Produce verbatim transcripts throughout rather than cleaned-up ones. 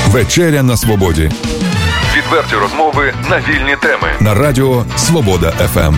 Вечеря на свободі. Відверті розмови на вільні теми. На радіо Свобода еф ем.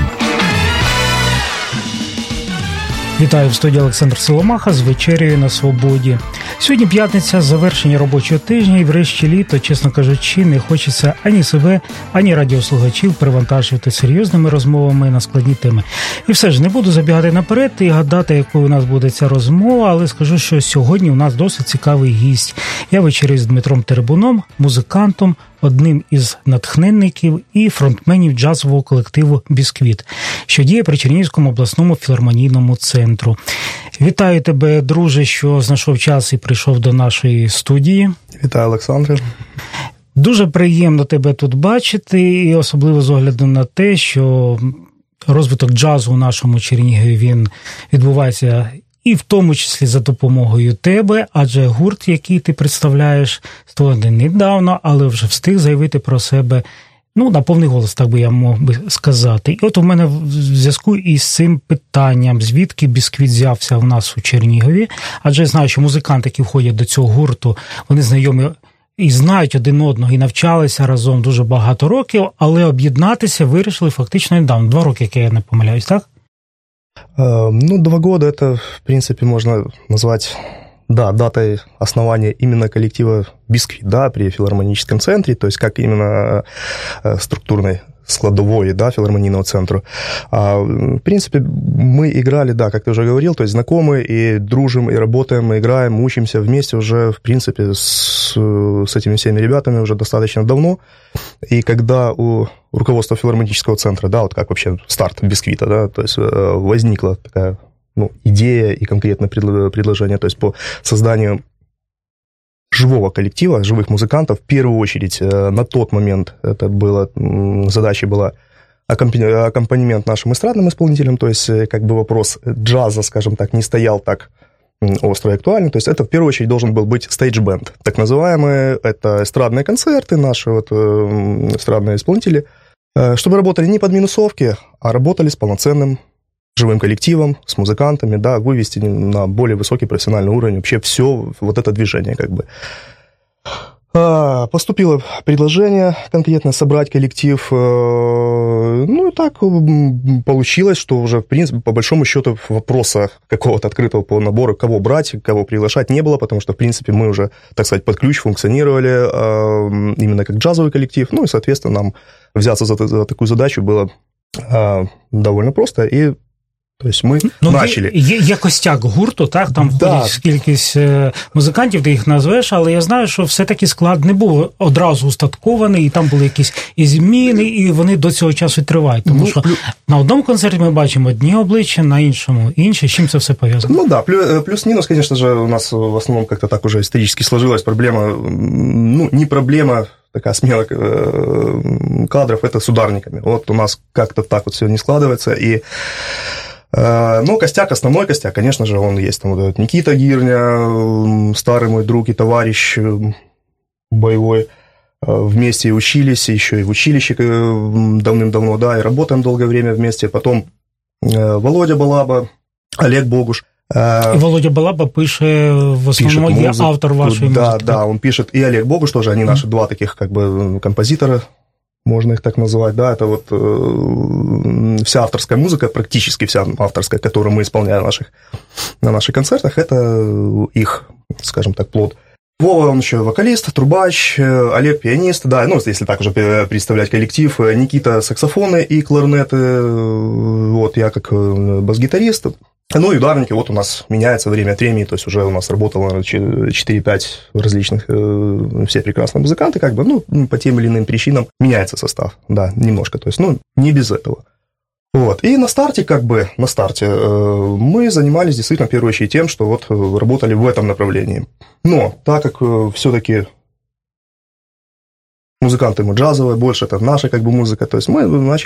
Вітаю, в студії Олександр Соломаха з вечерею на свободі. Сьогодні п'ятниця, завершення робочого тижня і врешті літо, чесно кажучи, не хочеться ані себе, ані радіослухачів перевантажувати серйозними розмовами на складні теми. І все ж, не буду забігати наперед і гадати, якою у нас буде ця розмова, але скажу, що сьогодні у нас досить цікавий гість. Я вечерю з Дмитром Теребуном, музикантом, одним із натхненників і фронтменів джазового колективу «Бісквіт», що діє при Чернігівському обласному філармонійному центру. Вітаю тебе, друже, що знайшов час і прийшов до нашої студії. Вітаю, Олександре. Дуже приємно тебе тут бачити, і особливо з огляду на те, що розвиток джазу у нашому Чернігові, він відбувається і в тому числі за допомогою тебе, адже гурт, який ти представляєш, створений недавно, але вже встиг заявити про себе, ну, на повний голос, так би я мог би сказати. І от у мене в зв'язку із цим питанням, звідки «Бісквіт» взявся в нас у Чернігові, адже я знаю, що музиканти, які входять до цього гурту, вони знайомі і знають один одного, і навчалися разом дуже багато років, але об'єднатися вирішили фактично недавно, два роки, як я не помиляюсь, так? Ну, два года это, в принципе, можно назвать, да, датой основания именно коллектива «Бісквіт», да, при филармоническом центре, то есть как именно структурной складовой, да, филармонийного центру. А, в принципе, мы играли, да, как ты уже говорил, то есть знакомы и дружим, и работаем, и играем, учимся вместе уже, в принципе, с, с этими всеми ребятами уже достаточно давно. И когда у руководства филармонического центра, да, вот как вообще старт «Бісквіта», да, то есть возникла такая, ну, идея и конкретное предложение, то есть по созданию живого коллектива, живых музыкантов, в первую очередь, на тот момент это было, задача была аккомпанемент нашим эстрадным исполнителям, то есть как бы вопрос джаза, скажем так, не стоял так остро и актуально, то есть это в первую очередь должен был быть стейдж-бенд, так называемые, это эстрадные концерты, наши вот эстрадные исполнители, чтобы работали не под минусовки, а работали с полноценным живым коллективом, с музыкантами, да, вывести на более высокий профессиональный уровень вообще все вот это движение, как бы. Поступило предложение конкретно собрать коллектив, ну и так получилось, что уже, в принципе, по большому счету вопроса какого-то открытого по набору, кого брать, кого приглашать, не было, потому что, в принципе, мы уже, так сказать, под ключ функционировали именно как джазовый коллектив, ну и, соответственно, нам взяться за, за такую задачу было довольно просто, и то есть ми ну, почали. Є, є костяк гурту, так? Там да. входить кількість музикантів, ти їх назвеш, але я знаю, що все-таки склад не був одразу устаткований, і там були якісь і зміни, і вони до цього часу тривають. Тому ну, що плюс... на одному концерті ми бачимо одні обличчя, на іншому інші. З чим це все пов'язано? Ну да, плюс-минус, конечно же, у нас в основном как-то так уже исторически сложилась проблема, ну, не проблема, такая смена кадров, это с ударниками. Вот у нас как-то так вот все не складывается, и но костяк, основной костяк, конечно же, он есть. Там вот этот Никита Гирня, старый мой друг и товарищ боевой. Вместе учились, еще и в училище давным-давно, да, и работаем долгое время вместе. Потом Володя Балаба, Олег Богуш. И Володя Балаба пише, в основном, пишет музыку, автор вашей да, музыки. Да, да, он пишет, и Олег Богуш тоже, они наши mm-hmm. два таких, как бы, композитора, можно их так назвать, да, это вот э, вся авторская музыка, практически вся авторская, которую мы исполняем наших, на наших концертах, это их, скажем так, плод. Вова, он еще вокалист, трубач, Олег пианист, да, ну, если так уже представлять коллектив, Никита саксофоны и кларнеты, вот, я как бас-гитарист. Ну и ударники, вот у нас меняется время от времени, то есть уже у нас работало четыре-пять различных, все прекрасные музыканты, как бы, ну, по тем или иным причинам меняется состав, да, немножко, то есть, ну, не без этого. Вот, и на старте, как бы, на старте мы занимались действительно, в первую очередь, тем, что вот работали в этом направлении. Но так как все-таки музыканты мы джазовые, больше это наша, как бы, музыка, то есть мы начали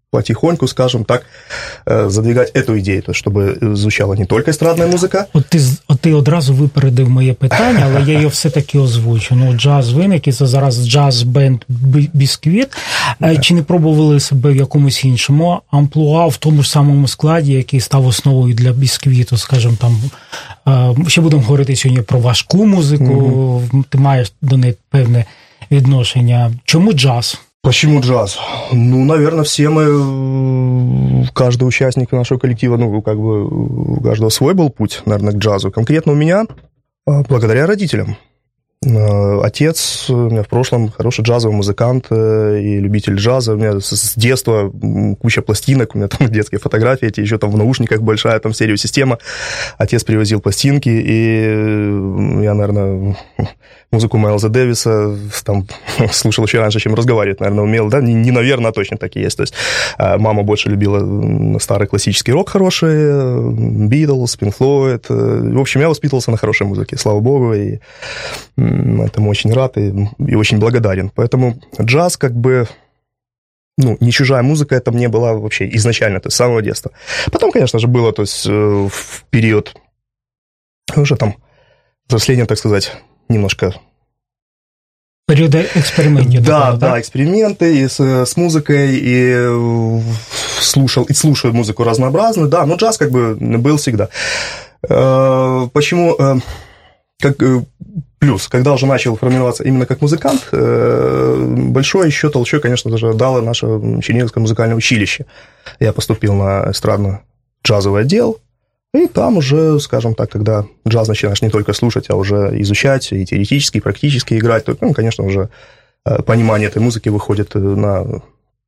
потихоньку, скажем так, задвигать эту ідею, то, щоб звучала не тільки естрадна музика. От ти, от ти одразу випередив моє питання, але я його все-таки озвучу. Ну, джаз виник, і це зараз джаз-бенд «Бісквіт». Yeah. Чи не пробували себе в якомусь іншому амплуа, в тому ж самому складі, який став основою для «Бісквіту», скажімо, там, ще будемо говорити сьогодні про важку музику, mm-hmm. ти маєш до неї певне відношення. Чому джаз? Почему джаз? Ну, наверное, все мы, каждый участник нашего коллектива, ну, как бы у каждого свой был путь, наверное, к джазу. Конкретно у меня благодаря родителям. Отец у меня в прошлом хороший джазовый музыкант и любитель джаза. У меня с детства куча пластинок, у меня там детские фотографии, эти еще там в наушниках большая там стереосистема. Отец привозил пластинки, и я, наверное, музыку Майлза Дэвиса там слушал еще раньше, чем разговаривать, наверное, умел, да, не, не наверное, а точно так и есть. То есть мама больше любила старый классический рок хороший, Битлз, Пинк Флойд. В общем, я воспитывался на хорошей музыке, слава богу, и этому очень рад и, и очень благодарен. Поэтому джаз как бы, ну, не чужая музыка, это мне была вообще изначально, то есть с самого детства. Потом, конечно же, было, то есть в период уже там взросления, так сказать, немножко... Периоды экспериментов. Да, да, да, эксперименты и с, с музыкой, и слушал, и слушаю музыку разнообразную, да, но джаз как бы был всегда. Почему... Как плюс, когда уже начал формироваться именно как музыкант, большой еще толчок, конечно же, дало наше Черниговское музыкальное училище. Я поступил на эстрадно-джазовый отдел, и там уже, скажем так, когда джаз начинаешь не только слушать, а уже изучать, и теоретически, и практически играть, то, ну, конечно, уже понимание этой музыки выходит на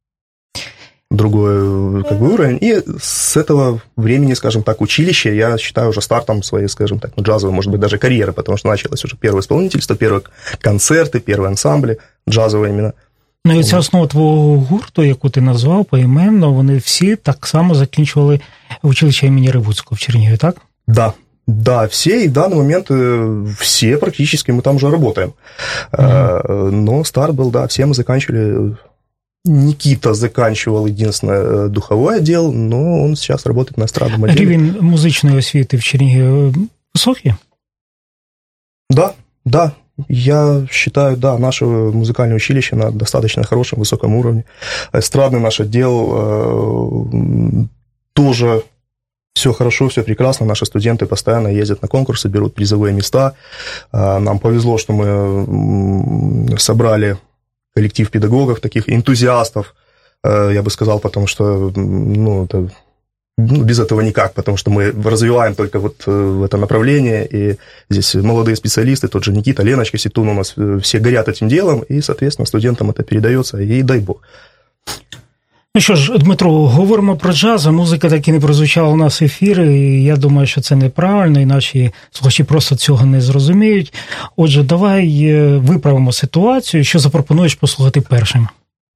другой как бы уровень. И с этого времени, скажем так, училище, я считаю уже стартом своей, скажем так, ну, джазовой, может быть, даже карьеры, потому что началось уже первое исполнительство, первые концерти, первые ансамблі, джазові іменно. Ну і ця основа твого гурту, яку ти назвав поіменно, вони всі так само закінчували училище імені Ревуцького в Чернігові, так? Да. Да, все, и в данный момент все практически мы там уже работаем. Mm-hmm. Но старт был, да, все мы заканчивали... Никита заканчивал единственное духовой отдел, но он сейчас работает на эстрадном отделе. Рівень музичної освіти в Чернігові високий? Да, да. Я считаю, да, наше музыкальное училище на достаточно хорошем, высоком уровне. Эстрадный наш отдел э, тоже все хорошо, все прекрасно. Наши студенты постоянно ездят на конкурсы, берут призовые места. Э, нам повезло, что мы собрали коллектив педагогов, таких энтузиастов, я бы сказал, потому что, ну, это, ну, без этого никак, потому что мы развиваем только вот это направление, и здесь молодые специалисты, тот же Никита, Леночка Ситун, у нас все горят этим делом, и, соответственно, студентам это передается, и дай бог. Ну що ж, Дмитро, говоримо про джаз, а музика так і не прозвучала у нас в ефірі, і я думаю, що це неправильно, і наші слухачі просто цього не зрозуміють. Отже, давай виправимо ситуацію. Що запропонуєш послухати першим?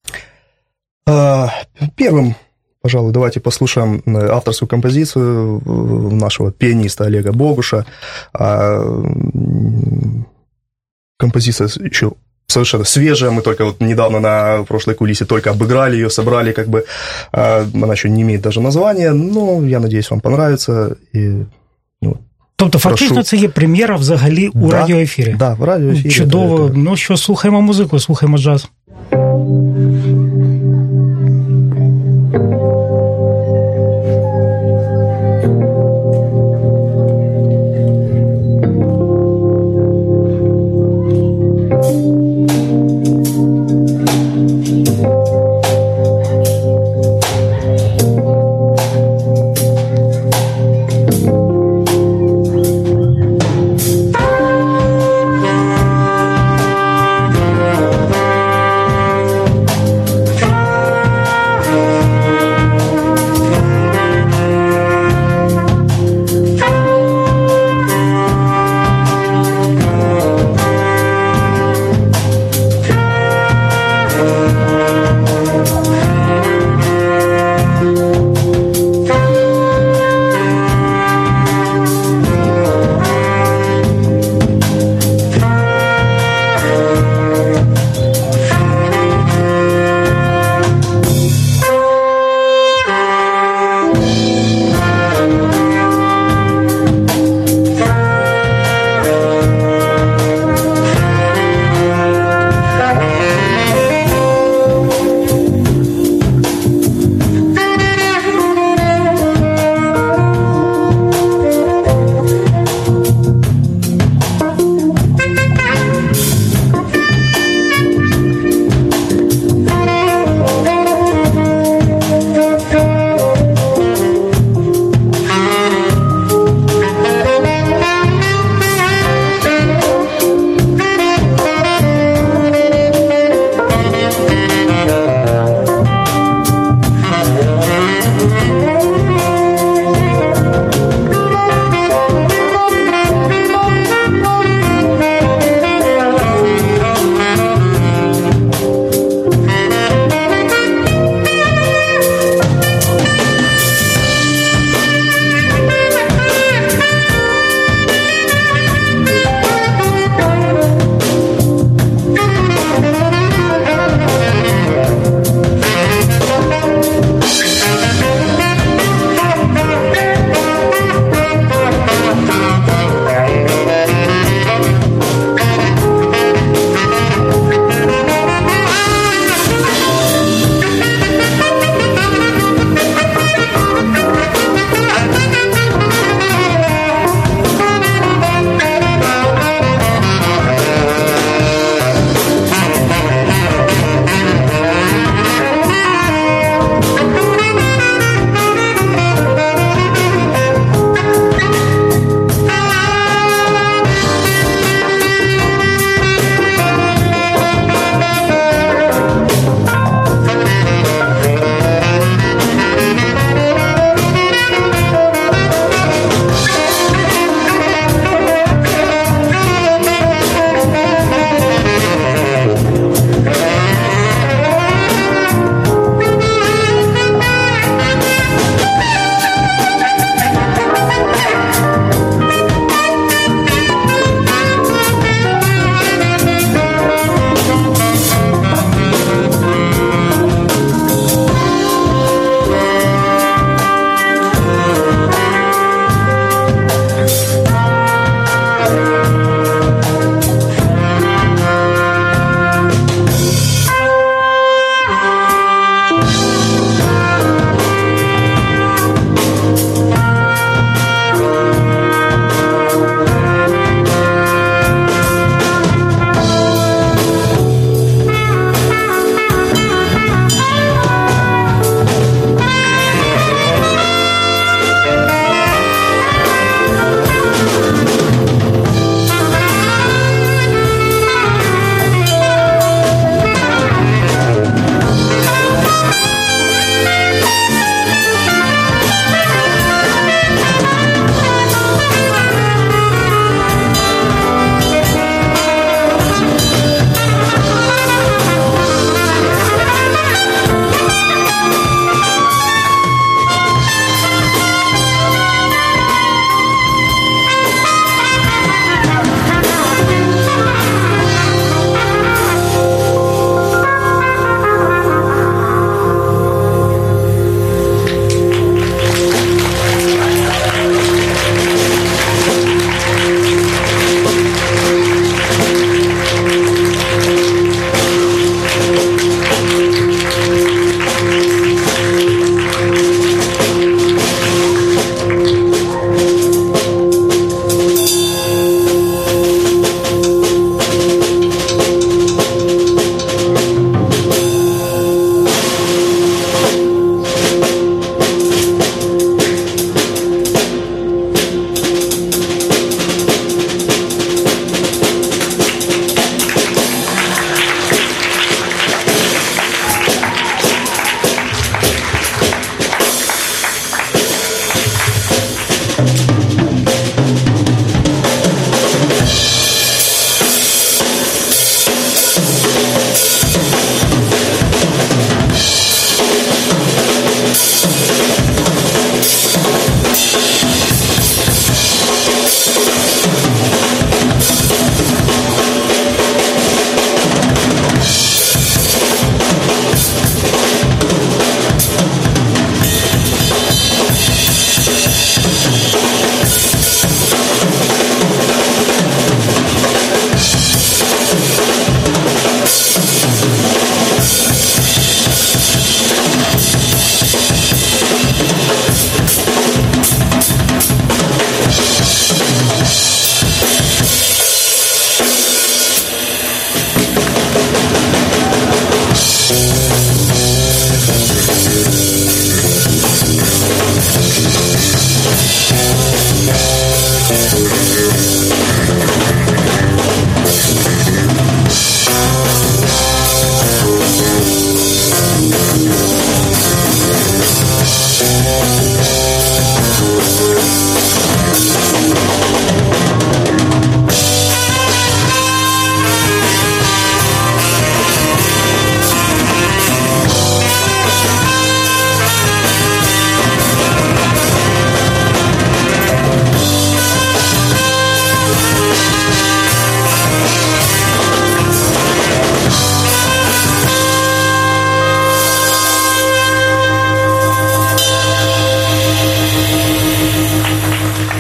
Первым, пожалуй, давайте послушаем авторскую композицию нашего пианиста Олега Богуша. Композиция еще совершенно свежая, мы только вот недавно на прошлой кулисе только обыграли ее, собрали, как бы, она еще не имеет даже названия, но я надеюсь, вам понравится. И, ну, тобто, фактично, прошу... це є прем'єра взагалі у да, радіоефірі? Да, в радіоефірі. Чудово. Это... Ну що, слухаємо музику, слухаємо джаз.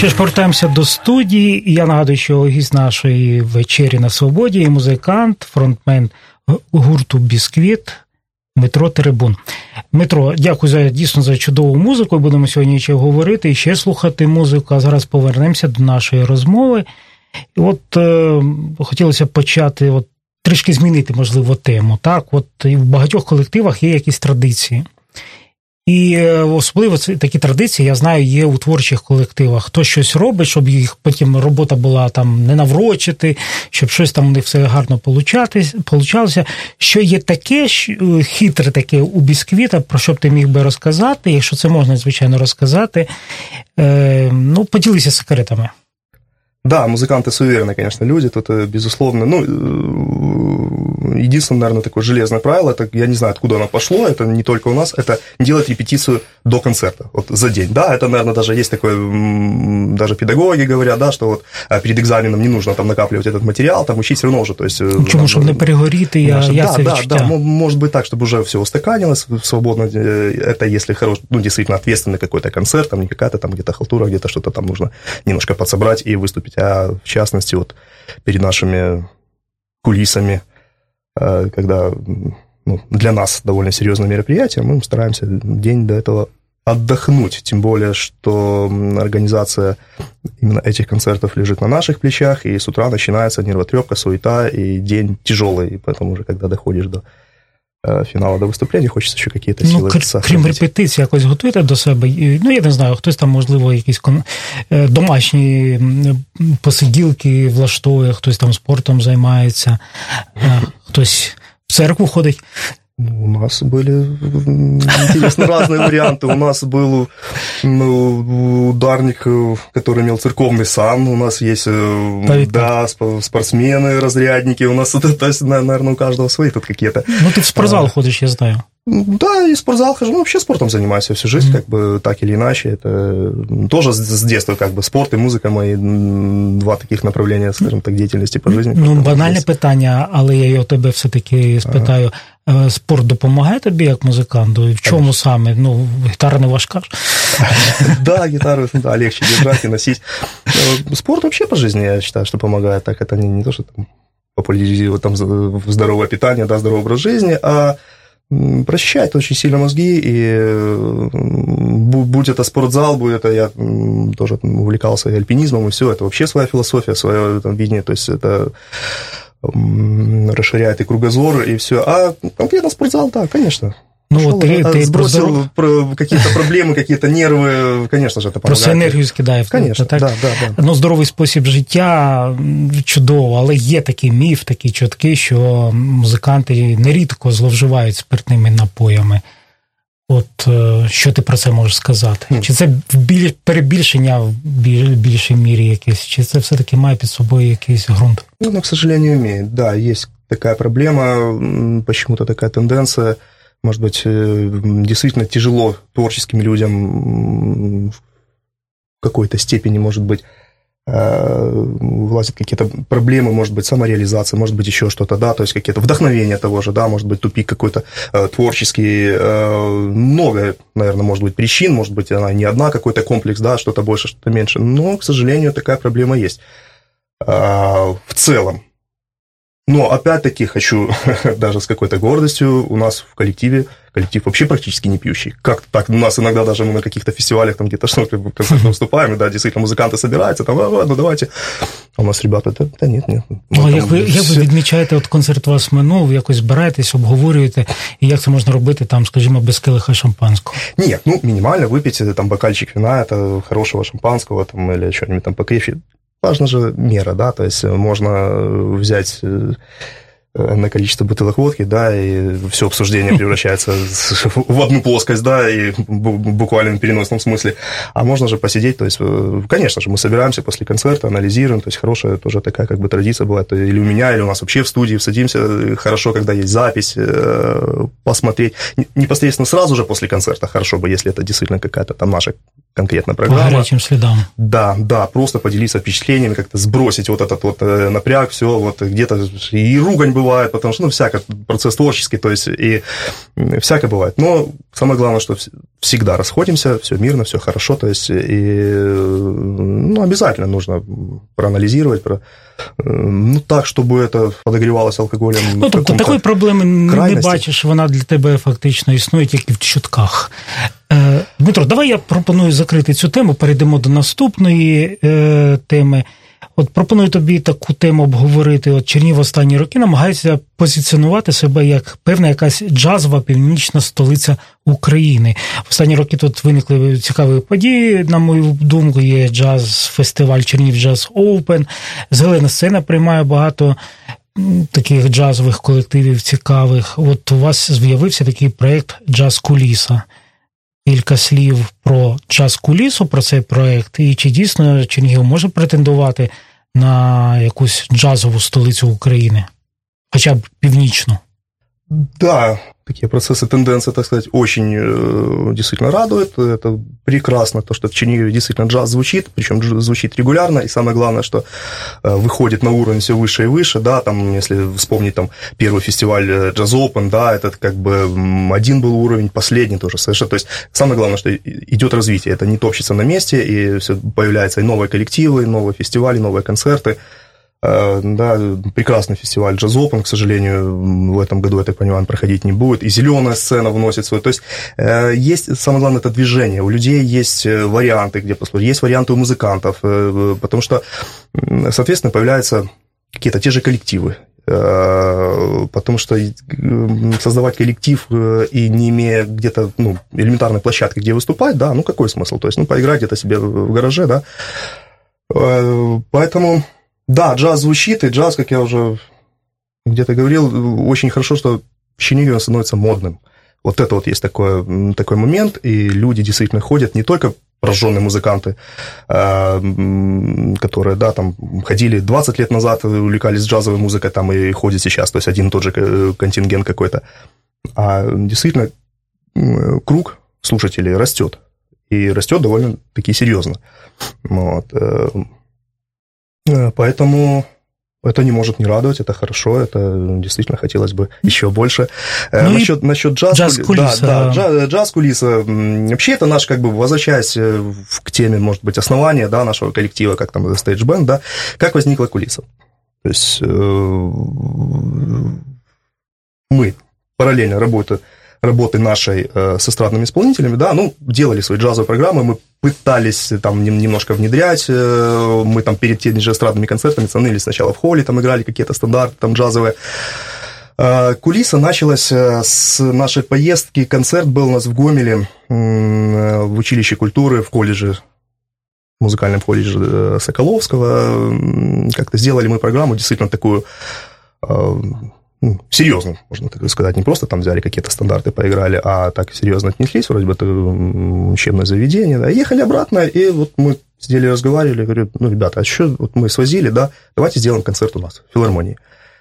Що ж, повертаємося до студії, і я нагадую, що гість нашої вечері на Свободі є музикант, фронтмен гурту «Бісквіт» Дмитро Теребун. Дмитро, дякую за, дійсно за чудову музику, будемо сьогодні ще говорити і ще слухати музику, а зараз повернемося до нашої розмови. І от е, хотілося почати, от, трішки змінити, можливо, тему. Так, от і в багатьох колективах є якісь традиції. І особливо такі традиції, я знаю, є у творчих колективах. Хтось щось робить, щоб їх потім робота була там не наврочити, щоб щось там у них все гарно получалося. Що є таке, хитре таке у «Бісквіта», про що б ти міг би розказати, якщо це можна, звичайно, розказати, ну, поділися секретами. Да, музыканты суеверные, конечно, люди, тут, безусловно, ну, единственное, наверное, такое железное правило, это, я не знаю, откуда оно пошло, это не только у нас, это не делать репетицию до концерта, вот, за день, да, это, наверное, даже есть такое, даже педагоги говорят, да, что вот перед экзаменом не нужно там накапливать этот материал, там учить все равно уже, то есть... Чому, чтобы не перегоріти, я, да, я да, це да, відчуття. да, может быть так, чтобы уже все устаканилось, свободно, это если хороший, ну, действительно ответственный какой-то концерт, там не какая-то там где-то халтура, где-то что-то там нужно немножко подсобрать и выступить, а в частности, вот перед нашими кулисами, когда, ну, для нас довольно серьезное мероприятие, мы стараемся день до этого отдохнуть, тем более, что организация именно этих концертов лежит на наших плечах, и с утра начинается нервотрепка, суета, и день тяжелый, и поэтому уже, когда доходишь до фіналу, до виступлення, хочеться ще якісь сили. Ну, крім репетицій, якось готуєте до себе? Ну, я не знаю, хтось там, можливо, якісь домашні посиділки влаштовує, хтось там спортом займається, хтось в церкву ходить. У нас были интересно разные варианты. У нас был ну, ударник, который имел церковный сан. У нас есть да, спортсмены, разрядники. У нас, то есть, наверное, у каждого свои тут какие-то. Ну, ты в спортзал а, ходишь, я знаю. Да, и в спортзал хожу. Ну, вообще спортом занимаюсь всю жизнь, mm-hmm. как бы так или иначе. Это тоже с детства как бы спорт и музыка мои два таких направления, скажем так, деятельности по жизни. Ну, банальне здесь. Питання, але я його тебе все-таки спитаю. Ага. Спорт допомагає тобі як музиканту? І в чому Конечно. Саме? Ну, гітара не важка. Да, гитару да, легче держать и носить. Спорт вообще по жизни, я считаю, что помогает. Так, это не, не то, что там популяризирует там здоровое питание, да, здоровый образ жизни, а прочищает очень сильно мозги, и будь это спортзал, будь это я тоже увлекался альпинизмом, и все, это вообще своя философия, свое там, видение, то есть это расширяет и кругозор, и все. А конкретно спортзал, да, конечно. Ну, Шел, ты, ты сбросил про какие-то проблемы, какие-то нервы, конечно же, это помогает. Просто енергію скидає. Конечно, так? Да, да, да. Ну, здоровий спосіб життя чудово, але є такий міф, такі чутки, що музиканти нерідко зловживають спиртними напоями. От, що ти про це можеш сказати? Mm. Чи це біль, перебільшення в біль, більшій мірі якесь, чи це все-таки має під собою якийсь ґрунт? Ну, к сожалению, имеет. Да, есть такая проблема, почему-то такая тенденция. Может быть, действительно тяжело творческим людям в какой-то степени, может быть, влазят какие-то проблемы, может быть, самореализация, может быть, еще что-то, да, то есть какие-то вдохновения того же, да, может быть, тупик какой-то творческий, много, наверное, может быть, причин, может быть, она не одна, какой-то комплекс, да, что-то больше, что-то меньше, но, к сожалению, такая проблема есть в целом. Но, опять-таки, хочу даже с какой-то гордостью, у нас в коллективе, коллектив вообще практически не пьющий. Как-то так, у нас иногда даже мы на каких-то фестивалях, там где-то что-то выступаем, и да, действительно, музыканты собираются, там, а, ну давайте. А у нас ребята, да, да нет, нет. Ну, а як ви, як ви відмічаєте, от концерт у вас минув, якось збираєтесь, обговорюєте, і як це можна робити, там, скажімо, без келиха шампанського? Нет, ну, минимально выпить, там, бокальчик вина, это хорошего шампанского, там, или что-нибудь там покрепче. Важна же мера, да, то есть можно взять на количество бутылок водки, да, и все обсуждение превращается в одну плоскость, да, и буквально в переносном смысле. А можно же посидеть, то есть, конечно же, мы собираемся после концерта, анализируем, то есть хорошая тоже такая как бы традиция бывает, или у меня, или у нас вообще в студии садимся, хорошо, когда есть запись, посмотреть, непосредственно сразу же после концерта, хорошо бы, если это действительно какая-то там наша конкретная программа. По горячим следам. Да, да, просто поделиться впечатлениями, как-то сбросить вот этот вот напряг, все, вот где-то и ругань бывает, бывает, потому что, ну, всякое, процесс творческий, то есть, и всякое бывает. Но самое главное, что всегда расходимся, все мирно, все хорошо, то есть, и, ну, обязательно нужно проанализировать, про, ну, так, чтобы это подогревалось алкоголем. Ну, тобто такої проблеми крайності. Не бачиш, вона для тебе фактично існує тільки в чутках. Дмитро, давай я пропоную закрити цю тему, перейдемо до наступної е, теми. От пропоную тобі таку тему обговорити. От Чернігів останні роки намагається позиціонувати себе як певна якась джазова північна столиця України. В останні роки тут виникли цікаві події, на мою думку, є джаз-фестиваль Чернігів Джаз Оупен, Зелена сцена приймає багато таких джазових колективів цікавих. От у вас з'явився такий проєкт «Джаз-куліса». Кілька слів про джаз-кулісу, про цей проєкт, і чи дійсно Чернігів може претендувати на якусь джазову столицю України, хоча б північну? Да, такие процессы, тенденции, так сказать, очень э, действительно радуют. Это прекрасно, то, что в Чернигове действительно джаз звучит, причем звучит регулярно, и самое главное, что э, выходит на уровень все выше и выше, да, там, если вспомнить там первый фестиваль Jazz Open, да, этот как бы один был уровень, последний тоже совершенно, то есть самое главное, что идет развитие, это не топчется на месте, и все появляются и новые коллективы, и новые фестивали, новые концерты. Да, прекрасный фестиваль Jazz Open, к сожалению, в этом году, я так понимаю, проходить не будет. И зеленая сцена вносит свой. То есть есть, самое главное, это движение. У людей есть варианты, где послушать, есть варианты у музыкантов, потому что, соответственно, появляются какие-то те же коллективы. Потому что создавать коллектив и не имея где-то, ну, элементарной площадки, где выступать, да, ну, какой смысл? То есть, ну, поиграть где-то себе в гараже, да. Поэтому... Да, джаз звучит, и джаз, как я уже где-то говорил, очень хорошо, что в Чернигове он становится модным. Вот это вот есть такой, такой момент, и люди действительно ходят, не только прожженные музыканты, которые, да, там, ходили двадцать лет назад, увлекались джазовой музыкой, там, и ходят сейчас, то есть один и тот же контингент какой-то, а действительно круг слушателей растет, и растет довольно-таки серьезно. Вот. Поэтому это не может не радовать, это хорошо, это действительно хотелось бы еще больше. Ну насчет, насчет джаз, джаз-кулиса. Да, да, джаз-кулиса. Вообще это наш, как бы, возвращаясь к теме, может быть, основания, да, нашего коллектива, как там Stage Band, да, как возникла кулиса. То есть мы параллельно работаем, работы нашей э, с эстрадными исполнителями, да, ну, делали свои джазовые программы, мы пытались там немножко внедрять, э, мы там перед теми же эстрадными концертами становились сначала в холле, там играли какие-то стандарты там джазовые. Э, кулиса началась с нашей поездки, концерт был у нас в Гомеле, э, в училище культуры, в колледже, в музыкальном колледже Соколовского, как-то сделали мы программу действительно такую... Э, Ну, серьезно, можно так сказать, не просто там взяли какие-то стандарты, поиграли, а так серьезно отнеслись, вроде бы это учебное заведение, да, ехали обратно, и вот мы сидели, разговаривали, говорю, ну, ребята, а что, вот мы свозили, да, давайте сделаем концерт у нас в филармонии.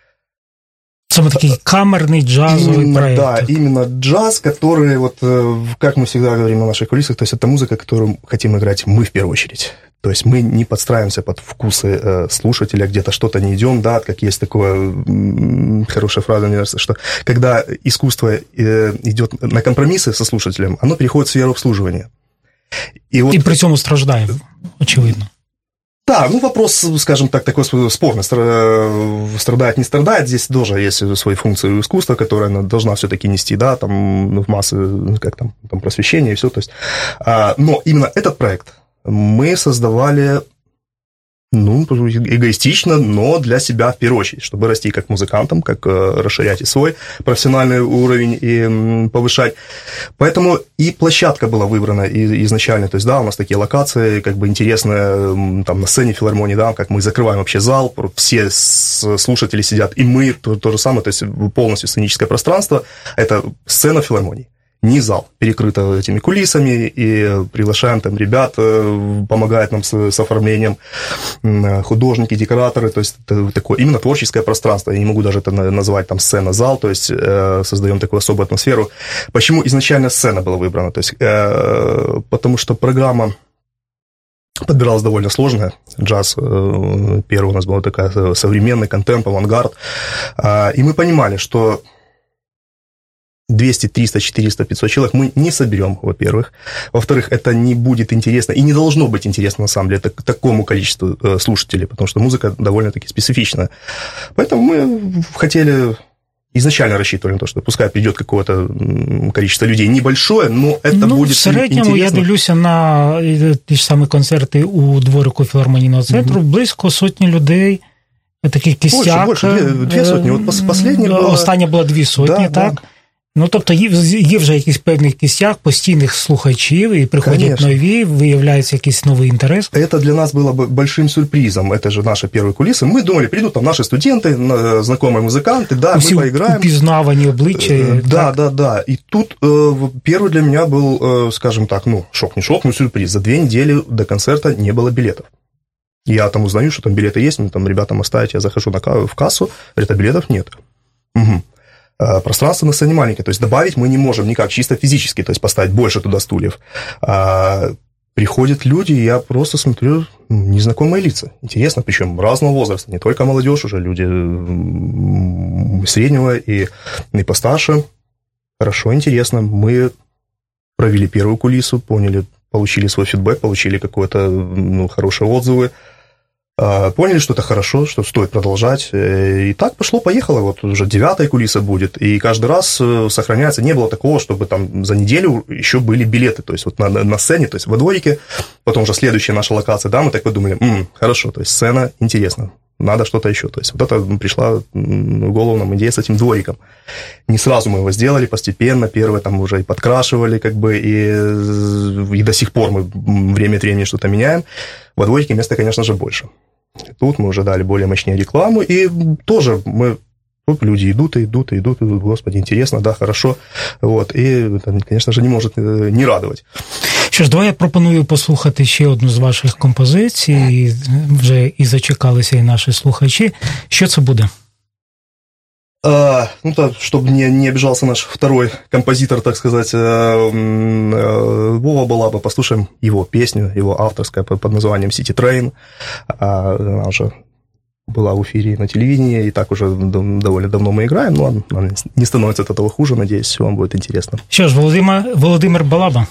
Самый такой камерный джазовый именно, проект. Да, именно джаз, который, вот, как мы всегда говорим на наших кулисах, то есть это музыка, которую хотим играть мы в первую очередь. То есть мы не подстраиваемся под вкусы э, слушателя, где-то что-то не идем, да, как есть такое, м- хорошая фраза, мне кажется, что когда искусство э, идет на компромиссы со слушателем, оно переходит в сферу обслуживания. И, вот... И при этом страждаем, очевидно. Да, ну вопрос, скажем так, такой спорный, страдает, не страдает, здесь тоже есть свои функции искусства, которые она должна все-таки нести, да, там в массы, как там, там просвещение и все, то есть, а, но именно этот проект мы создавали, ну, эгоистично, но для себя в первую очередь, чтобы расти как музыкантом, как э, расширять и свой профессиональный уровень и м, повышать. Поэтому и площадка была выбрана и, изначально, то есть, да, у нас такие локации, как бы интересные, там, на сцене филармонии, да, как мы закрываем вообще зал, все слушатели сидят, и мы, то, то же самое, то есть, полностью сценическое пространство, это сцена филармонии. Не зал, перекрыто этими кулисами, и приглашаем там ребят, помогают нам с, с оформлением, художники, декораторы, то есть это такое именно творческое пространство, я не могу даже это назвать там сцена-зал, то есть э, создаем такую особую атмосферу. Почему изначально сцена была выбрана? То есть, э, потому что программа подбиралась довольно сложная. Джаз первый у нас был такой современный контемп, авангард. И мы понимали, что двести, триста, четыреста, пятьсот человек мы не соберем, во-первых. Во-вторых, это не будет интересно и не должно быть интересно, на самом деле, так, такому количеству слушателей, потому что музыка довольно-таки специфичная. Поэтому мы хотели... Изначально рассчитывали на то, что пускай придет какое-то количество людей небольшое, но это ну, буде в середньому, інтересно. я дивлюся на ті ж самі концерти у дворику філармонійного центру, mm-hmm. близько сотні людей, такий кістяк. Більше, більше, дві, дві сотні. От последня була... Остання була дві сотні, да, так? Да. Ну, тобто є, є вже якийсь певний кістяк постійних слухачів, и приходят Конечно. Нові, выявляется якийсь новый интерес. Это для нас было большим сюрпризом. Это же наши первые кулисы. Мы думали, придут там наши студенты, знакомые музыканты, да, Усі мы поиграем. Упізнавані обличчя. Да, так? да, да. И тут э, первый для меня был, э, скажем так, ну, шок, не шок, но сюрприз. За две недели до концерта не было билетов. Я там узнаю, что там билеты есть, мне там ребятам оставить, я захожу на, в кассу, говорят, а билетов нет. Угу. Пространство на сцене маленькое, то есть добавить мы не можем никак, чисто физически, то есть поставить больше туда стульев. А приходят люди, и я просто смотрю, незнакомые лица. Интересно, причем разного возраста, не только молодежь, уже люди среднего и, и постарше. Хорошо, интересно. Мы провели первую кулису, поняли, получили свой фидбэк, получили какие-то ну, хорошие отзывы. Поняли, что это хорошо, что стоит продолжать. И так пошло-поехало. Вот уже девятая кулиса будет. И каждый раз сохраняется. Не было такого, чтобы там за неделю еще были билеты. То есть вот на, на сцене, то есть во дворике. Потом уже следующая наша локация. Да, мы так подумали, м-м, хорошо, то есть сцена интересно. Надо что-то еще. То есть вот это пришла в голову нам идея с этим двориком. Не сразу мы его сделали, постепенно. Первое там уже и подкрашивали, как бы, и, и до сих пор мы время от времени что-то меняем. Во дворике места, конечно же, больше. Тут мы уже дали более мощнее рекламу, и тоже мы... Тут люди идут и идут и идут, и идут, господи, интересно, да, хорошо. Вот, и это, конечно же, не может не радовать. Що ж, давай я пропоную послухати ще одну з ваших композицій, вже і зачекалися і наші слухачі. Що це буде? А, ну, то, чтобы не, не обижался наш второй композитор, так сказать, Вова Балаба, послушаем его песню, его авторская под названием «City Train». Она уже была в эфире на телевидении, и так уже довольно давно мы играем, но она не становится от этого хуже, надеюсь, вам будет интересно. Що ж, Володимир, Володимир Балаба.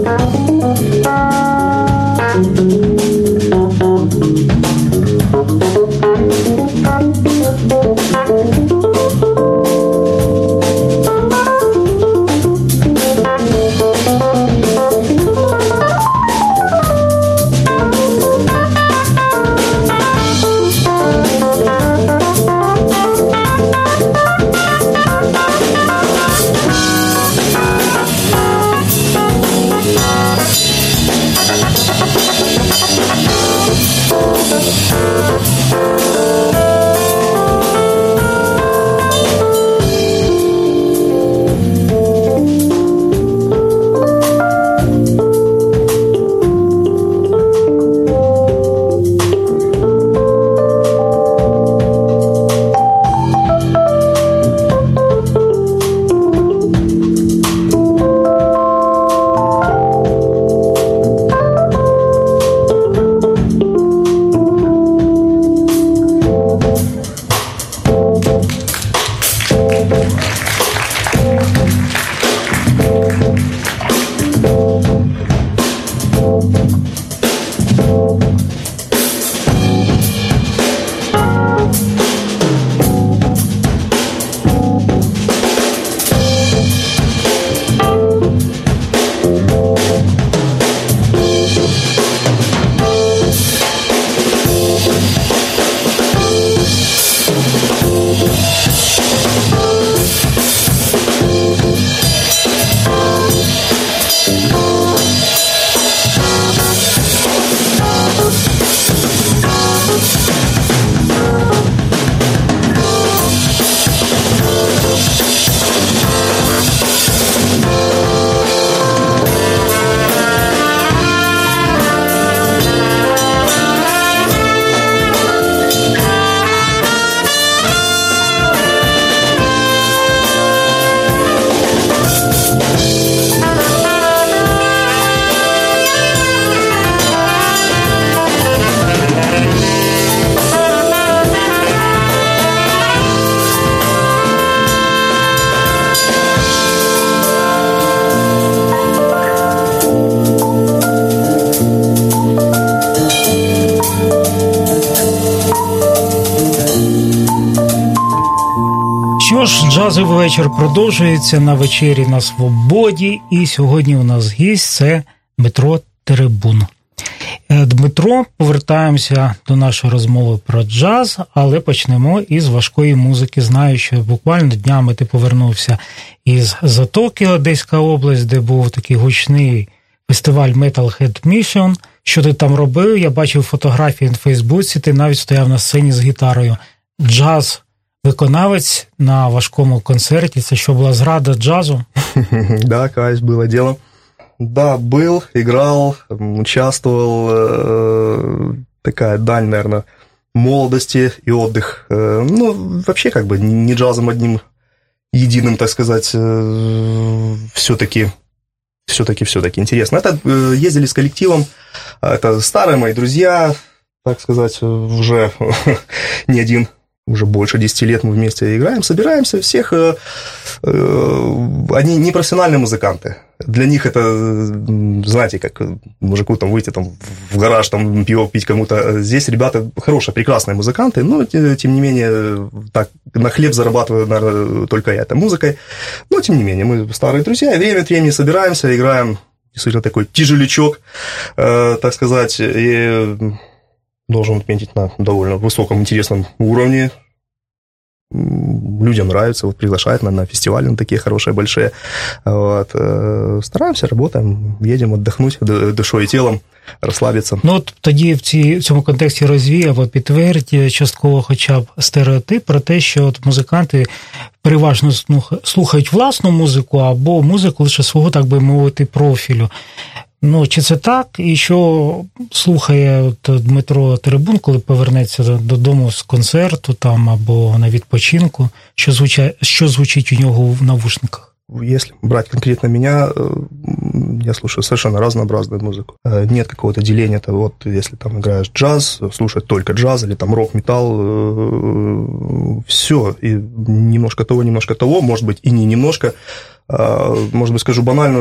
Що ж, джазовий вечір продовжується на вечері на Свободі, і сьогодні у нас гість – це Дмитро Теребун. Дмитро, повертаємося до нашої розмови про джаз, але почнемо із важкої музики. Знаю, що буквально днями ти повернувся із Затоки, Одеська область, де був такий гучний фестиваль Metalhead Mission. Що ти там робив? Я бачив фотографії на Фейсбуці, ти навіть стояв на сцені з гітарою. Джаз виконавець на важкому концерті. Це що, була зрада джазу? Да, кайф, было дело. Да, был, играл, участвовал. Э, такая даль, наверное, молодости и отдых. Э, ну, вообще, как бы, не джазом одним единым, так сказать, э, все-таки, все-таки, все-таки интересно. Это э, ездили с коллективом, это старые мои друзья, так сказать, уже не один, уже больше десяти лет мы вместе играем, собираемся, всех, э, э, они не профессиональные музыканты. Для них это, знаете, как мужику там выйти там, в гараж, там пиво пить кому-то. Здесь ребята хорошие, прекрасные музыканты, но, тем не менее, так, на хлеб зарабатываю, наверное, только я, это музыкой. Но, тем не менее, мы старые друзья, и время от времени собираемся, играем, действительно, такой тяжелячок, э, так сказать, и должен отметить на довольно высоком, интересном уровне. Людям нравится, вот приглашают на, на фестивали, на такие хорошие, большие. Вот. Стараємося, работаем, їдемо віддохнути душою і тілом, розслабитися. Ну, от тоді в, цій, в цьому контексті розвій або підтвердь частково хоча б стереотип про те, що от музиканти переважно слухають власну музику або музику лише свого, так би мовити, профілю. Ну, чи це так? І що слухає от Дмитро Теребун, коли повернеться додому з концерту там або на відпочинку? Що звучить, що звучить у нього в навушниках? Если брать конкретно меня, я слушаю совершенно разнообразную музыку. Нет какого-то деления, то вот если там играешь джаз, слушать только джаз, или там рок-металл, все, и немножко того, немножко того, может быть, и не немножко. Может быть, скажу банальную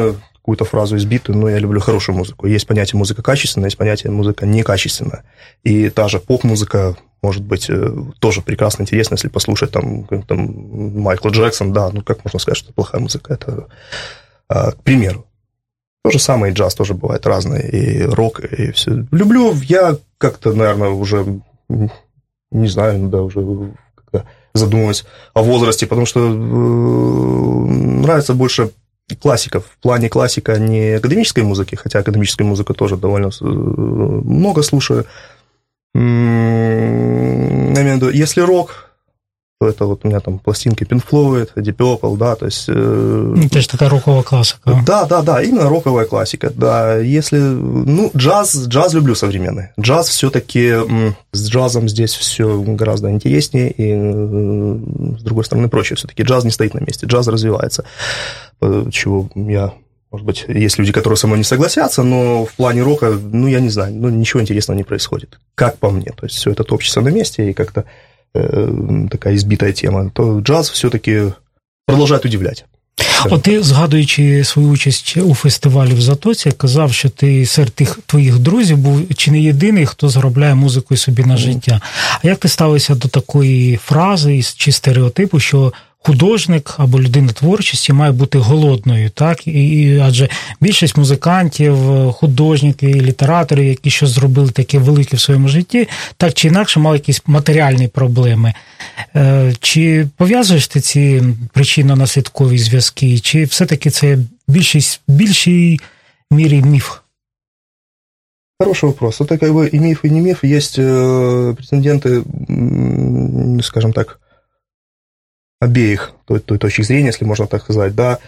какую-то фразу избитую, но я люблю хорошую музыку. Есть понятие музыка качественная, есть понятие музыка некачественная. И та же поп-музыка может быть тоже прекрасно интересна, если послушать там, там Майкла Джексона, да, ну как можно сказать, что это плохая музыка, это к примеру. То же самое и джаз тоже бывает разный, и рок, и все. Люблю, я как-то, наверное, уже, не знаю, да, уже задумываюсь о возрасте, потому что нравится больше классика. В плане классика не академической музыки, хотя академическую музыку тоже довольно много слушаю. Я имею в виду, если рок, то это вот у меня там пластинки Pink Floyd, Deep Purple, да, то есть... Это же такая роковая классика. Да, да, да, именно роковая классика, да. Если... Ну, джаз, джаз люблю современный. Джаз все-таки... С джазом здесь все гораздо интереснее, и, с другой стороны, проще все-таки. Джаз не стоит на месте, джаз развивается. Чего я... Может быть, есть люди, которые со мной не согласятся, но в плане рока, ну, я не знаю, ну, ничего интересного не происходит, как по мне. То есть все это топчется на месте, и как-то така избитая тема, то джаз все-таки продовжує удивляти. От ти, згадуючи свою участь у фестивалі в Затоці, казав, що ти серед тих твоїх друзів був чи не єдиний, хто заробляє музикою собі на життя. А як ти ставишся до такої фрази чи стереотипу, що художник або людина творчості має бути голодною, так? І, адже більшість музикантів, художників, літераторів, які щось зробили таке велике в своєму житті, так чи інакше мали якісь матеріальні проблеми. Чи пов'язуєш ти ці причинно-наслідкові зв'язки, чи все-таки це більшість, більшій мірі міф? Хороший вопрос. Это как бы и миф, и не миф. Есть претенденты, скажем так, обеих той, той точки зрения, если можно так сказать, да,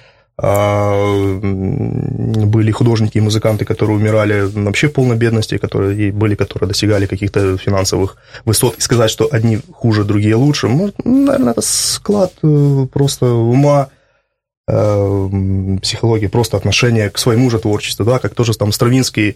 были художники и музыканты, которые умирали вообще в полной бедности, которые, и были, которые достигали каких-то финансовых высот, и сказать, что одни хуже, другие лучше, может, наверное, это склад просто ума, психологии, просто отношение к своему же творчеству, да, как тоже там Стравинский,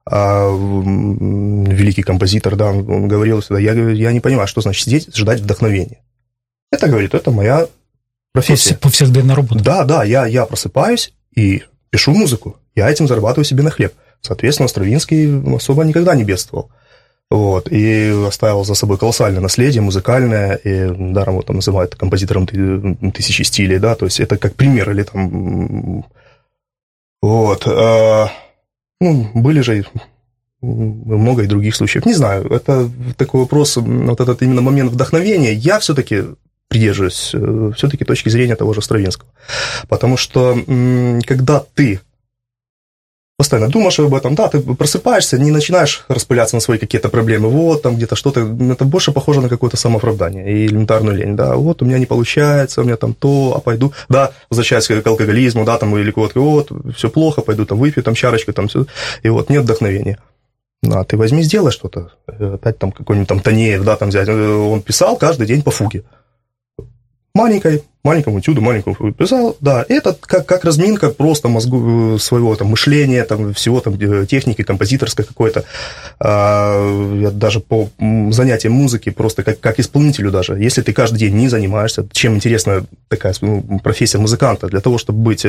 великий композитор, да, он говорил всегда, я, я не понимаю, что значит сидеть, ждать вдохновения. Это, говорит, это моя профессия. Повседневная работа. Да, да, я, я просыпаюсь и пишу музыку. Я этим зарабатываю себе на хлеб. Соответственно, Стравинский особо никогда не бедствовал. Вот, и оставил за собой колоссальное наследие музыкальное, и даром его там называют композитором тысячи стилей, да, то есть это как пример, или там... Вот. Ну, были же много и других случаев. Не знаю, это такой вопрос, вот этот именно момент вдохновения, я все-таки придерживаюсь все-таки точки зрения того же Стравинского. Потому что когда ты постоянно думаешь об этом, да, ты просыпаешься, не начинаешь распыляться на свои какие-то проблемы, вот там где-то что-то, это больше похоже на какое-то самооправдание и элементарную лень, да, вот у меня не получается, у меня там то, а пойду, да, возвращаясь к алкоголизму, да, там, или вот, вот, все плохо, пойду там выпью, там, чарочку, там, все, и вот, нет вдохновения. А ты возьми, сделай что-то, опять там какой-нибудь там Танеев, да, там взять, он писал каждый день по фуге. Маленькой, маленькому этюду, маленькому писал, да, это как, как разминка просто мозгу своего там мышления, там, всего там техники композиторской какой-то, а, даже по занятиям музыки, просто как, как исполнителю даже, если ты каждый день не занимаешься, чем интересна такая профессия музыканта, для того, чтобы быть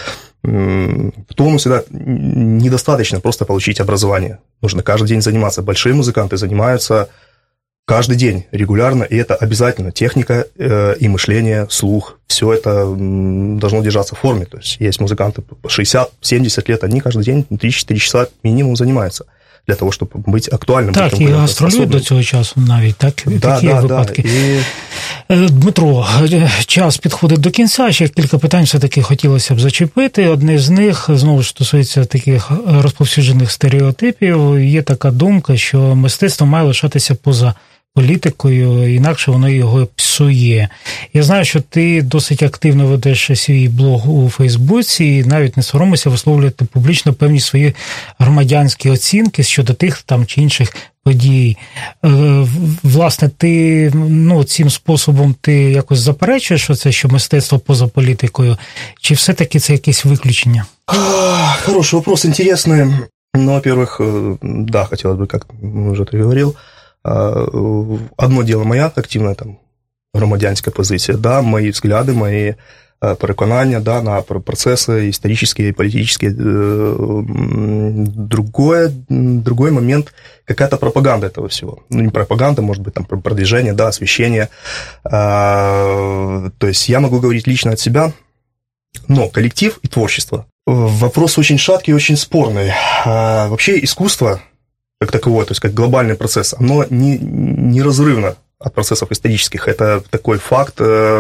в тонусе, да, недостаточно просто получить образование, нужно каждый день заниматься, большие музыканты занимаются каждый день, регулярно, и это обязательно. Техника э, и мышление, слух, все это м, должно держаться в форме. То есть есть музыканты по шестьдесят-семьдесят лет, они каждый день три-четыре часа минимум занимаются для того, щоб бути актуальним. Так, і гастролюють до цього часу навіть, так? Да, такі да, випадки. Да. І... Дмитро, час підходить до кінця, ще кілька питань все-таки хотілося б зачепити. Одне з них, знову ж стосується таких розповсюджених стереотипів. Є така думка, що мистецтво має лишатися поза політикою, інакше воно його псує. Я знаю, що ти досить активно ведеш свій блог у Фейсбуці і навіть не соромишся висловлювати публічно певні свої громадянські оцінки щодо тих там чи інших подій. Власне, ти ну, цим способом ти якось заперечуєш оце, що мистецтво поза політикою, чи все-таки це якесь виключення? Хороший вопрос, интересный. Ну, во-первых, да, хотелось бы, как уже ты говорил, одно дело моя активная там громадянська позиція, да, мої взгляди, мої переконання, да, на процессы исторические и политические. Другой, другой момент, какая-то пропаганда этого всего. Ну, не пропаганда, может быть, там продвижение, да, освещение. То есть я могу говорить лично от себя, но коллектив и творчество. Вопрос очень шаткий и очень спорный. Вообще искусство, как таковое, то есть как глобальный процесс, оно не, неразрывно от процессов исторических. Это такой факт,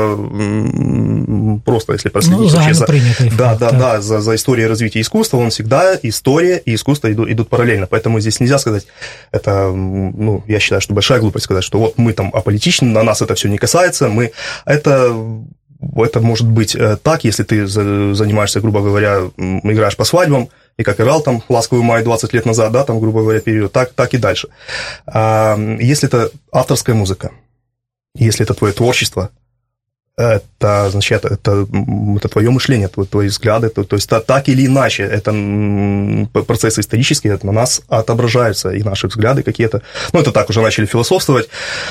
просто если проследить ну, вообще за, факт, да, да, да, за, за историей развития искусства, он всегда, история и искусство идут, идут параллельно. Поэтому здесь нельзя сказать, это, ну, я считаю, что большая глупость сказать, что вот мы там аполитичны, на нас это все не касается, мы, это... Это может быть так, если ты занимаешься, грубо говоря, играешь по свадьбам, и как играл там «Ласковый май» двадцать лет назад, да, там, грубо говоря, период, так, так и дальше. Если это авторская музыка, если это твое творчество, это, значит, это, это твое мышление, твои взгляды, то, то есть так или иначе, это процессы исторические, это на нас отображаются, и наши взгляды какие-то, ну, это так уже начали философствовать.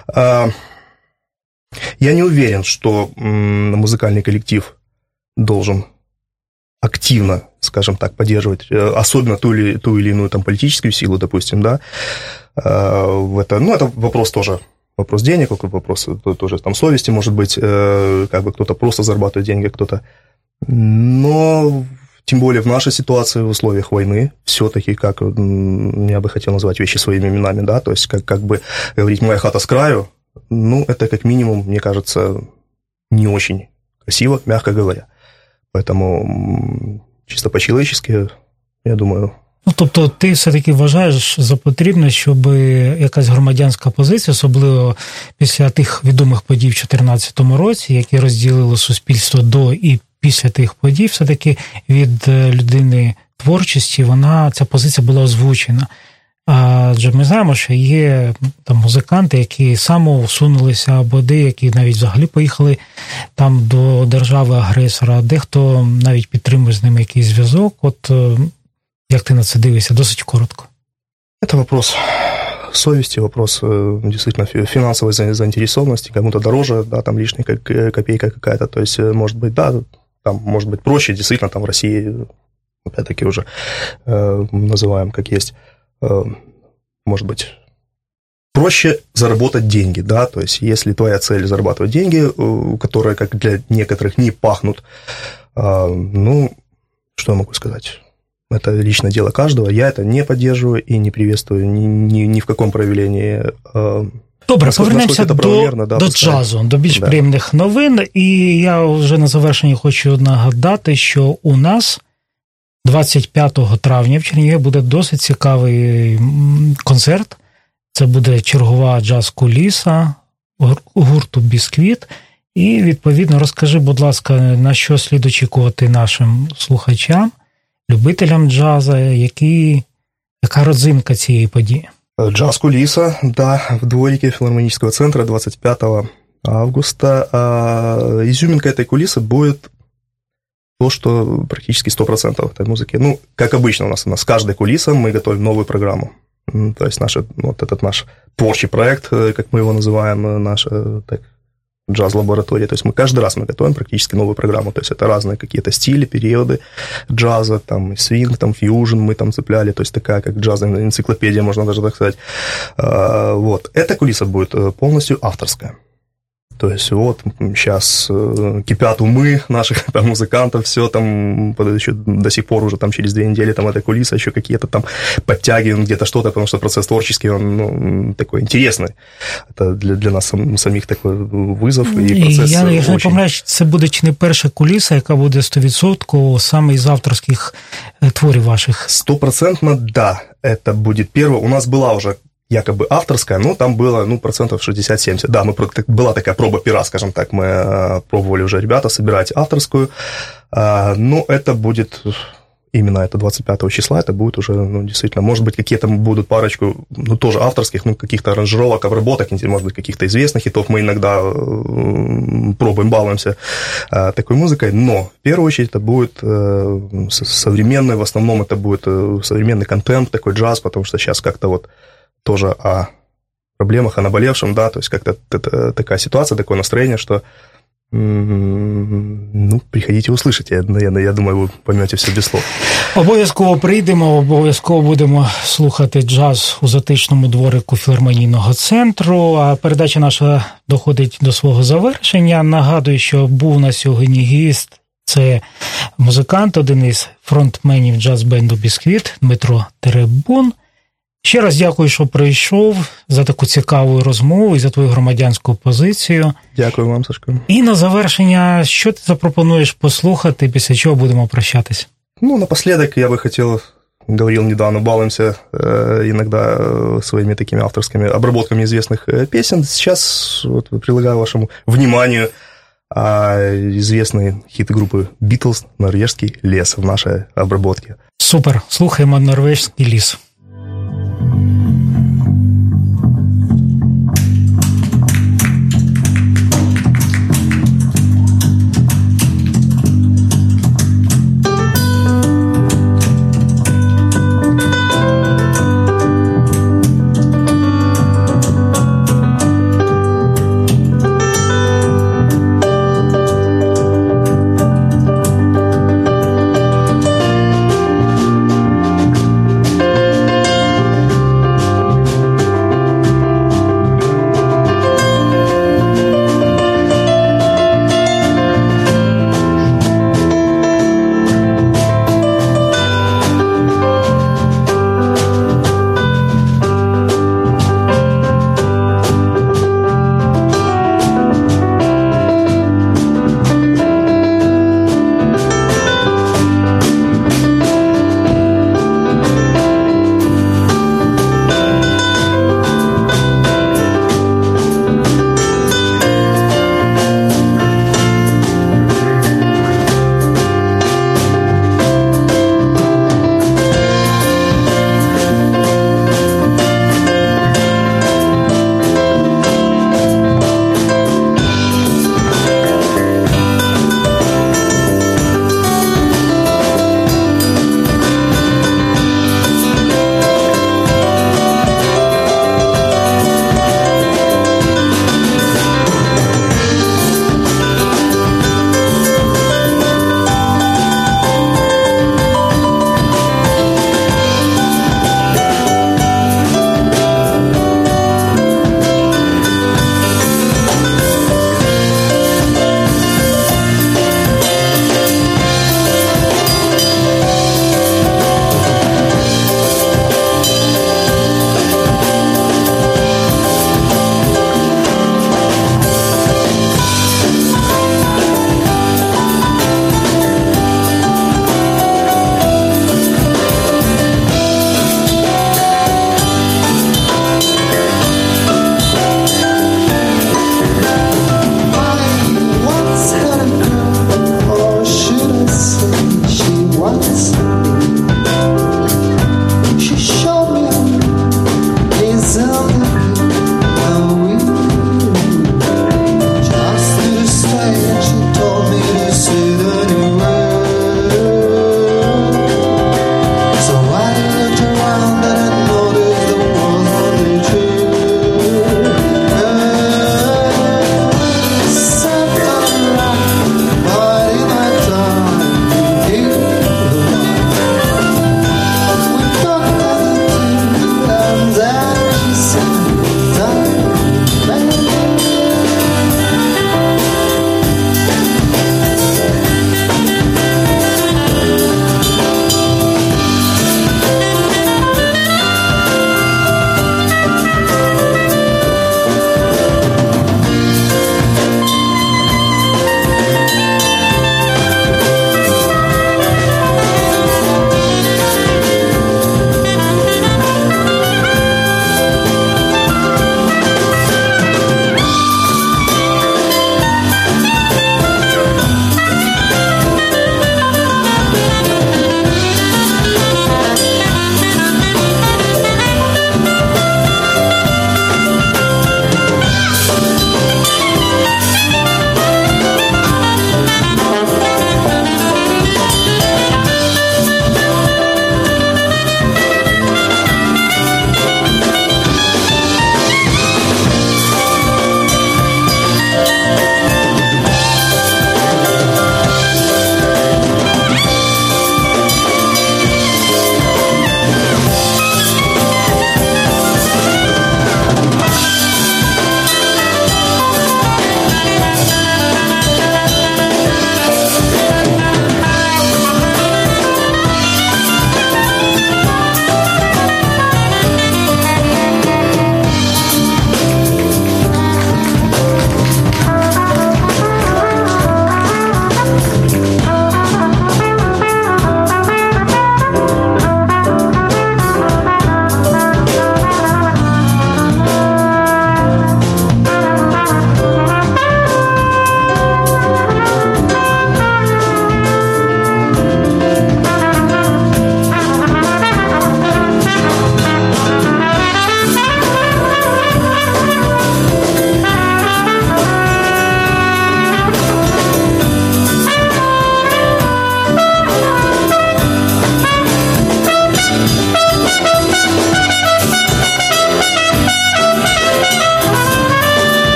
Я не уверен, что музыкальный коллектив должен активно, скажем так, поддерживать, особенно ту или, ту или иную там, политическую силу, допустим, да. Это, ну, это вопрос тоже, вопрос денег, вопрос тоже там, совести, может быть, как бы кто-то просто зарабатывает деньги, кто-то... Но... Тем более в нашей ситуации, в условиях войны, все-таки, как я бы хотел назвать вещи своими именами, да, то есть как, как бы говорить «моя хата с краю», ну, это как минимум, мне кажется, не очень красиво, мягко говоря. Поэтому чисто по-чоловічески, я думаю... Ну, тобто ти все-таки вважаєш за потрібне, щоб якась громадянська позиція, особливо після тих відомих подій в дві тисячі чотирнадцятому році, які розділили суспільство до і після тих подій, все-таки від людини творчості, вона, ця позиція була озвучена. Адже ми знаємо, що є там музиканти, які самоусунулися, або деякі навіть взагалі поїхали там до держави-агресора, дехто навіть підтримує з ними якийсь зв'язок. От як ти на це дивишся? Досить коротко. Это вопрос совести, вопрос действительно финансовой заинтересованности, кому-то дороже, да, там лишняя копейка какая-то, то есть, может быть, да, там, может быть, проще, действительно, там в России, опять-таки, уже э, называем как есть, может быть, проще заработать деньги, да, то есть если твоя цель зарабатывать деньги, которые, как для некоторых, не пахнут, ну, что я могу сказать, это личное дело каждого, я это не поддерживаю и не приветствую ни, ни, ни в каком проявлении. Добре, повернемося до, да, до джазу, до більш да. приємних новин, і я вже на завершенні хочу нагадати, що у нас двадцять п'ятого травня в Чернігові буде досить цікавий концерт. Це буде чергова джаз-куліса гурту «Бісквіт». І, відповідно, розкажи, будь ласка, на що слід очікувати нашим слухачам, любителям джазу, які, яка родзинка цієї події? Джаз-кулиса, да, в дворике филармонического центра двадцать пятого августа. Изюминка этой кулисы будет то, что практически сто процентов этой музыки. Ну, как обычно у нас, у нас с каждой кулисой мы готовим новую программу. То есть наш, вот этот наш творчий проект, как мы его называем, наша так, джаз-лаборатория. То есть мы каждый раз мы готовим практически новую программу. То есть это разные какие-то стили, периоды джаза, там свинг, там фьюжн мы там цепляли. То есть такая как джазовая энциклопедия, можно даже так сказать. Вот. Эта кулиса будет полностью авторская. То есть вот сейчас кипят умы наших там, музыкантов, все там еще до сих пор уже там через две недели там эта кулиса еще какие-то там подтягиваем где-то что-то, потому что процесс творческий, он ну, такой интересный. Это для, для нас самих такой вызов и процесс. Я, якщо не помиляюсь, це буде чи не перша куліса, яка буде сто відсотків саме із авторських творів ваших? Стопроцентно, да, это будет первое. У нас была уже якобы авторская, но там было, ну, процентов шестьдесят-семьдесят. Да, мы, была такая проба пера, скажем так, мы пробовали уже, ребята, собирать авторскую, но это будет, именно это двадцать пятого числа, это будет уже, ну, действительно, может быть, какие-то будут парочку, ну, тоже авторских, ну, каких-то аранжировок, обработок, может быть, каких-то известных хитов, мы иногда пробуем, балуемся такой музыкой, но, в первую очередь, это будет современный, в основном это будет современный контент, такой джаз, потому что сейчас как-то вот тоже о проблемах, о наболевшем, да, то есть как-то такая ситуация, такое настроение, что Ну, приходите, услышите. Я, я думаю, ви поймете все без слов. Обов'язково прийдемо, обов'язково будемо слухати джаз у затишному дворику філармонійного центру. А передача наша доходить до свого завершення. Нагадую, що був на сьогодні гість. Це музикант, один із фронтменів джаз-бенду «Бісквіт» Дмитро Теребун. Ще раз дякую, що прийшов, за таку цікаву розмову і за твою громадянську позицію. Дякую вам, Сашко. І на завершення, що ти запропонуєш послухати, після чого будемо прощатись? Ну, напоследок я бы хотел, говорил недавно, балуемся э, иногда своими такими авторскими обработками известных э, песен. Сейчас вот предлагаю вашему вниманию э, известные хиты группы «Битлз», «Норвежский лес» в нашей обработке. Супер, слухаємо «Норвежський ліс». Thank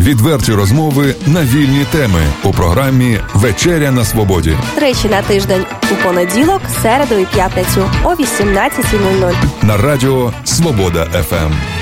Відверті розмови на вільні теми у програмі «Вечеря на свободі». Тричі на тиждень у понеділок, середу і п'ятницю о вісімнадцятій нуль нуль. На радіо «Свобода еф ем».